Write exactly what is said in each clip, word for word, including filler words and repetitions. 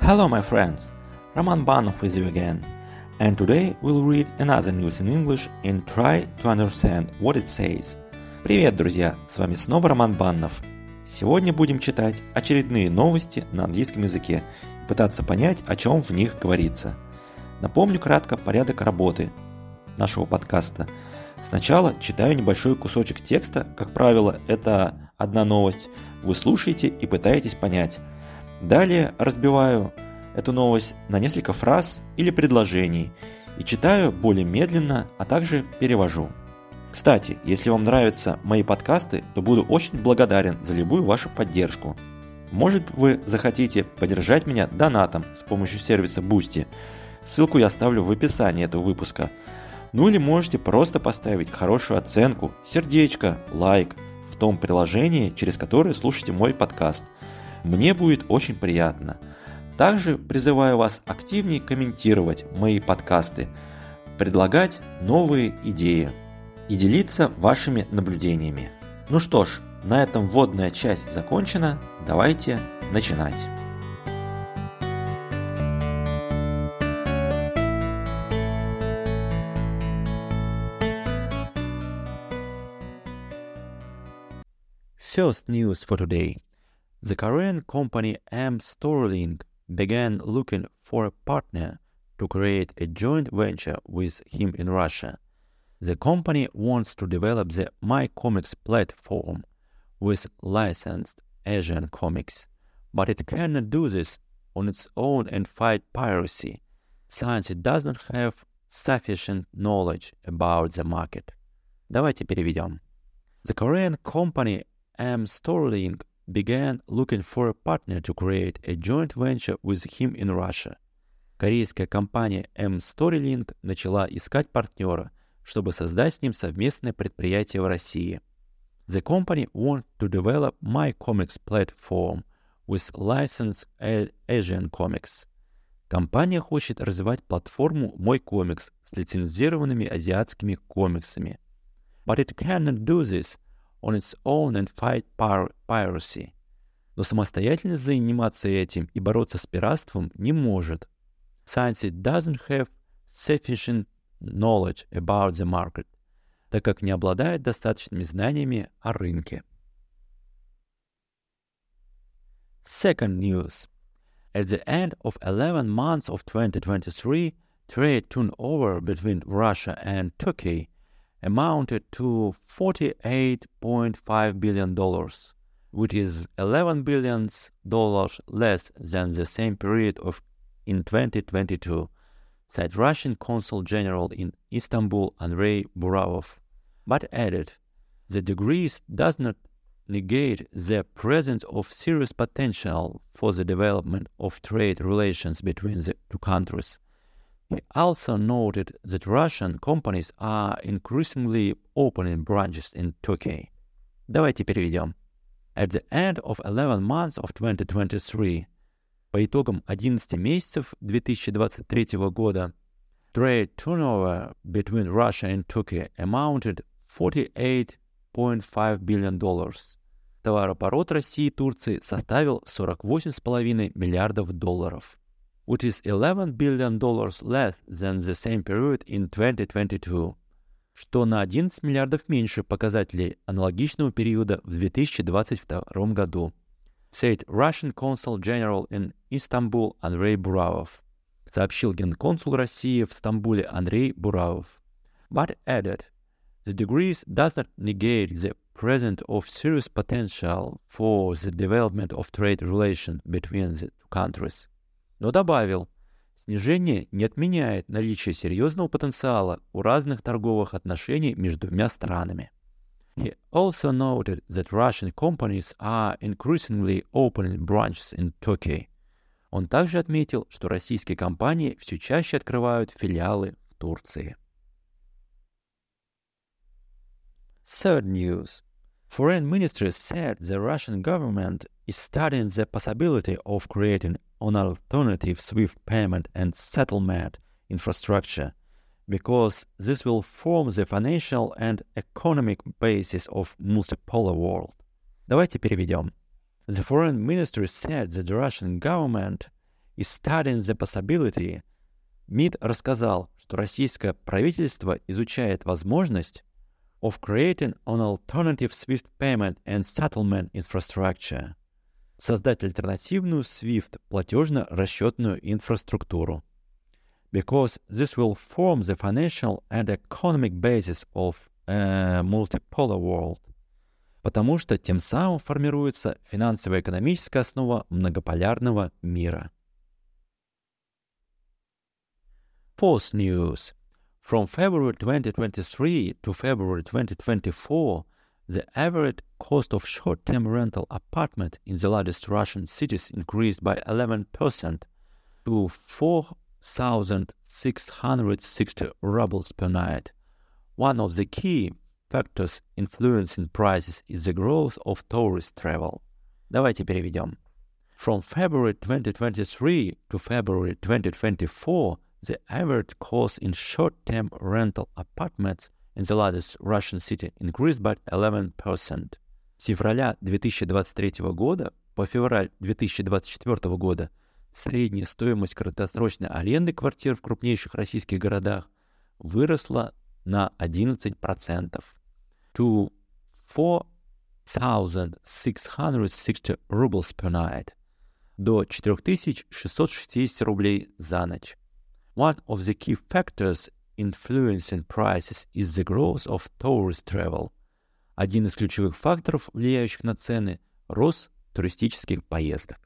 Hello my friends, Roman Banov with you again, and today we'll read another news in English and try to understand what it says. Привет, друзья, с вами снова Роман Баннов. Сегодня будем читать очередные новости на английском языке и пытаться понять, о чем в них говорится. Напомню кратко порядок работы нашего подкаста. Сначала читаю небольшой кусочек текста, как правило, это одна новость, вы слушаете и пытаетесь понять. Далее разбиваю эту новость на несколько фраз или предложений и читаю более медленно, а также перевожу. Кстати, если вам нравятся мои подкасты, то буду очень благодарен за любую вашу поддержку. Может, вы захотите поддержать меня донатом с помощью сервиса Boosty. Ссылку я оставлю в описании этого выпуска. Ну или можете просто поставить хорошую оценку, сердечко, лайк в том приложении, через которое слушаете мой подкаст. Мне будет очень приятно. Также призываю вас активнее комментировать мои подкасты, предлагать новые идеи и делиться вашими наблюдениями. Ну что ж, на этом вводная часть закончена. Давайте начинать. First news for today. The Korean company M-Storylink began looking for a partner to create a joint venture with him in Russia. The company wants to develop the MyComics platform with licensed Asian comics, but it cannot do this on its own and fight piracy, since it does not have sufficient knowledge about the market. Давайте переведем. The Korean company M-Storylink began looking for a partner to create a joint venture with him in Russia. Корейская компания M-Storylink начала искать партнера, чтобы создать с ним совместное предприятие в России. The company wants to develop MyComics platform with licensed Asian comics. Компания хочет развивать платформу MyComics с лицензированными азиатскими комиксами. But it cannot do this on its own and fight piracy. Но самостоятельно заниматься этим и бороться с пиратством не может, since it doesn't have sufficient knowledge about the market, так как не обладает достаточными знаниями о рынке. Second news. At the end of eleven months of twenty twenty-three, trade turnover between Russia and Turkey amounted to forty-eight point five billion dollars, which is eleven billion dollars less than the same period of in twenty twenty-two, said Russian Consul General in Istanbul Andrei Buravov, but added, the decrease does not negate the presence of serious potential for the development of trade relations between the two countries. He also noted that Russian companies are increasingly opening branches in Turkey. Давайте переведем. At the end of eleven months of twenty twenty-three, по итогам одиннадцати месяцев две тысячи двадцать третьего года, trade turnover between Russia and Turkey amounted forty-eight point five billion dollars. Товарооборот России и Турции составил сорок восемь целых пять десятых миллиардов долларов, which is eleven billion dollars less than the same period in twenty twenty-two, что на одиннадцать миллиардов меньше показателей аналогичного периода в две тысячи двадцать втором году, said Russian Consul General in Istanbul Andrei Buravov, сообщил генконсул России в Стамбуле Андрей Буравов, but added, the decrease does not negate the presence of serious potential for the development of trade relations between the two countries. Но добавил, снижение не отменяет наличие серьезного потенциала у разных торговых отношений между двумя странами. He also noted that Russian companies are increasingly opening branches in Turkey. Он также отметил, что российские компании все чаще открывают филиалы в Турции. Third news. Foreign Ministry said the Russian government is studying the possibility of creating an alternative SWIFT payment and settlement infrastructure, because this will form the financial and economic basis of multipolar world. Давайте переведем. The Foreign Ministry said that the Russian government is studying the possibility. МИД рассказал, что российское правительство изучает возможность of creating an alternative SWIFT payment and settlement infrastructure. Создать альтернативную SWIFT платежно-расчетную инфраструктуру. Because this will form the financial and economic basis of a multipolar world. Потому что тем самым формируется финансово-экономическая основа многополярного мира. Fourth news. From February twenty twenty-three to February twenty twenty-four, the average cost of short-term rental apartment in the largest Russian cities increased by eleven percent to four thousand six hundred sixty rubles per night. One of the key factors influencing prices is the growth of tourist travel. Давайте переведем. From February twenty twenty-three to February twenty twenty-four, the average cost in short-term rental apartments in the largest Russian city increased by eleven percent. С февраля две тысячи двадцать третьего года по февраль две тысячи двадцать четвёртого года средняя стоимость краткосрочной аренды квартир в крупнейших российских городах выросла на одиннадцать процентов. To four thousand six hundred sixty rubles per night. До четыре тысячи шестьсот шестьдесят рублей за ночь. One of the key factors influencing prices is the growth of tourist travel. Один из ключевых факторов, влияющих на цены, рост туристических поездок.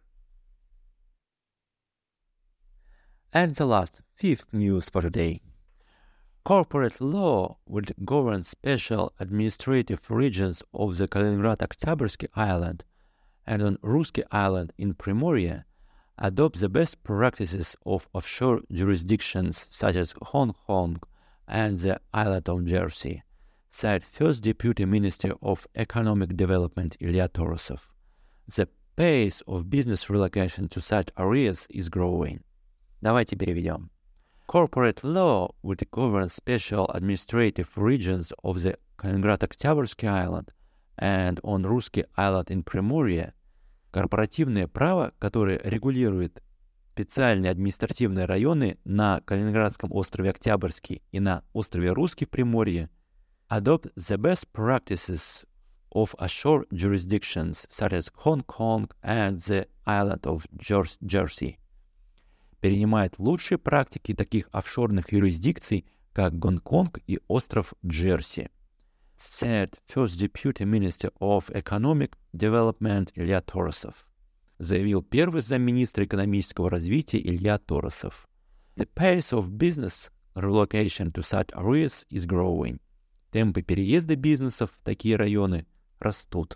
And the last, fifth news for today. Corporate law would govern special administrative regions of the Kaliningrad-Oktyabrski Island and on Russky Island in Primorye adopt the best practices of offshore jurisdictions such as Hong Kong and the island of Jersey, said First Deputy Minister of Economic Development Ilya Torosov. The pace of business relocation to such areas is growing. Давайте переведем. Corporate law would govern special administrative regions of the Kaliningrad-Oktyabrski Island and on Russky Island in Primorye. Корпоративное право, которое регулирует специальные административные районы на Калининградском острове Октябрьский и на острове Русский в Приморье, adopt the best practices of offshore jurisdictions such as Hong Kong and the island of Jersey. Перенимает лучшие практики таких офшорных юрисдикций, как Гонконг и остров Джерси, said First Deputy Minister of Economic Development Ilya Torosov. Заявил первый замминистра экономического развития Илья Торосов. The pace of business relocation to such areas is growing. Темпы переезда бизнесов в такие районы растут.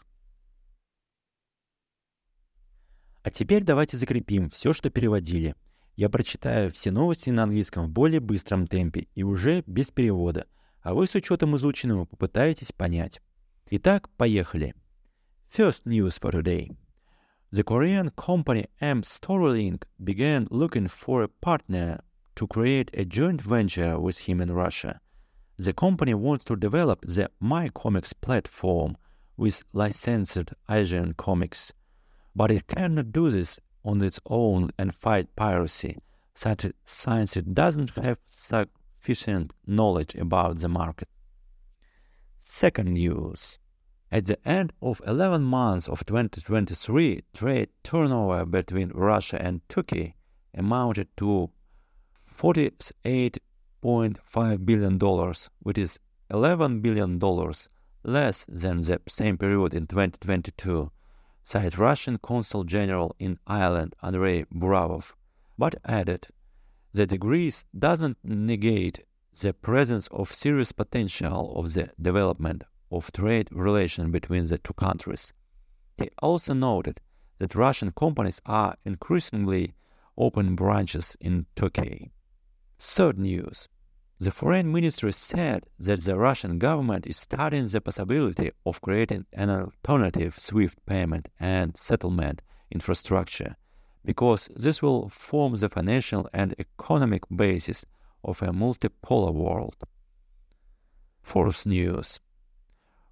А теперь давайте закрепим все, что переводили. Я прочитаю все новости на английском в более быстром темпе и уже без перевода, а вы с учетом изученного попытаетесь понять. Итак, поехали. First news for today. The Korean company M-Storylink began looking for a partner to create a joint venture with him in Russia. The company wants to develop the MyComics platform with licensed Asian comics, but it cannot do this on its own and fight piracy, since it doesn't have sufficient knowledge about the market. Second news. At the end of eleven months of twenty twenty-three, trade turnover between Russia and Turkey amounted to forty-eight point five billion dollars, which is eleven billion dollars less than the same period in twenty twenty-two, said Russian Consul General in Ireland Andrei Buravov, but added, the decrease doesn't negate the presence of serious potential of the development of trade relations between the two countries. He also noted that Russian companies are increasingly opening branches in Turkey. Third news. The Foreign Ministry said that the Russian government is studying the possibility of creating an alternative SWIFT payment and settlement infrastructure, because this will form the financial and economic basis of a multipolar world. Fourth news.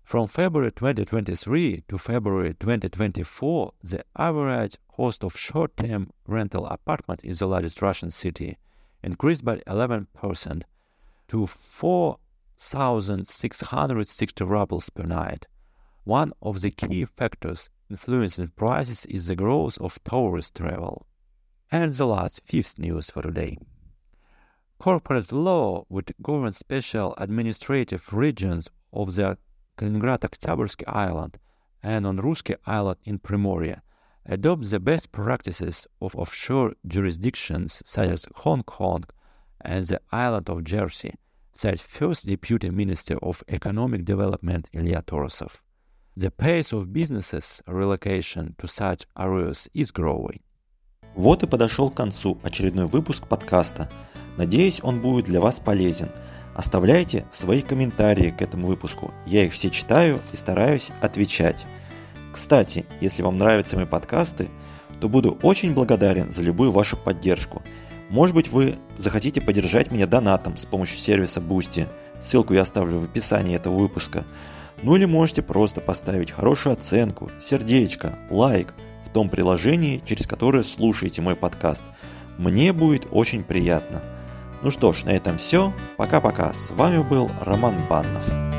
From February twenty twenty-three to February twenty twenty-four, the average cost of short-term rental apartment in the largest Russian city increased by eleven percent to four thousand six hundred sixty rubles per night. One of the key factors influencing prices is the growth of tourist travel. And the last, fifth news for today. Corporate law with govern special administrative regions of the Kaliningrad-Oktyabrsk Island and on Russky Island in Primorie adopt the best practices of offshore jurisdictions such as Hong Kong and the island of Jersey, said first Deputy Minister of Economic Development Ilya Torosov. The pace of businesses relocation to such areas is growing. Вот и подошел к концу очередной выпуск подкаста. Надеюсь, он будет для вас полезен. Оставляйте свои комментарии к этому выпуску. Я их все читаю и стараюсь отвечать. Кстати, если вам нравятся мои подкасты, то буду очень благодарен за любую вашу поддержку. Может быть, вы захотите поддержать меня донатом с помощью сервиса Boosty. Ссылку я оставлю в описании этого выпуска. Ну или можете просто поставить хорошую оценку, сердечко, лайк в том приложении, через которое слушаете мой подкаст. Мне будет очень приятно. Ну что ж, на этом все. Пока-пока. С вами был Роман Баннов.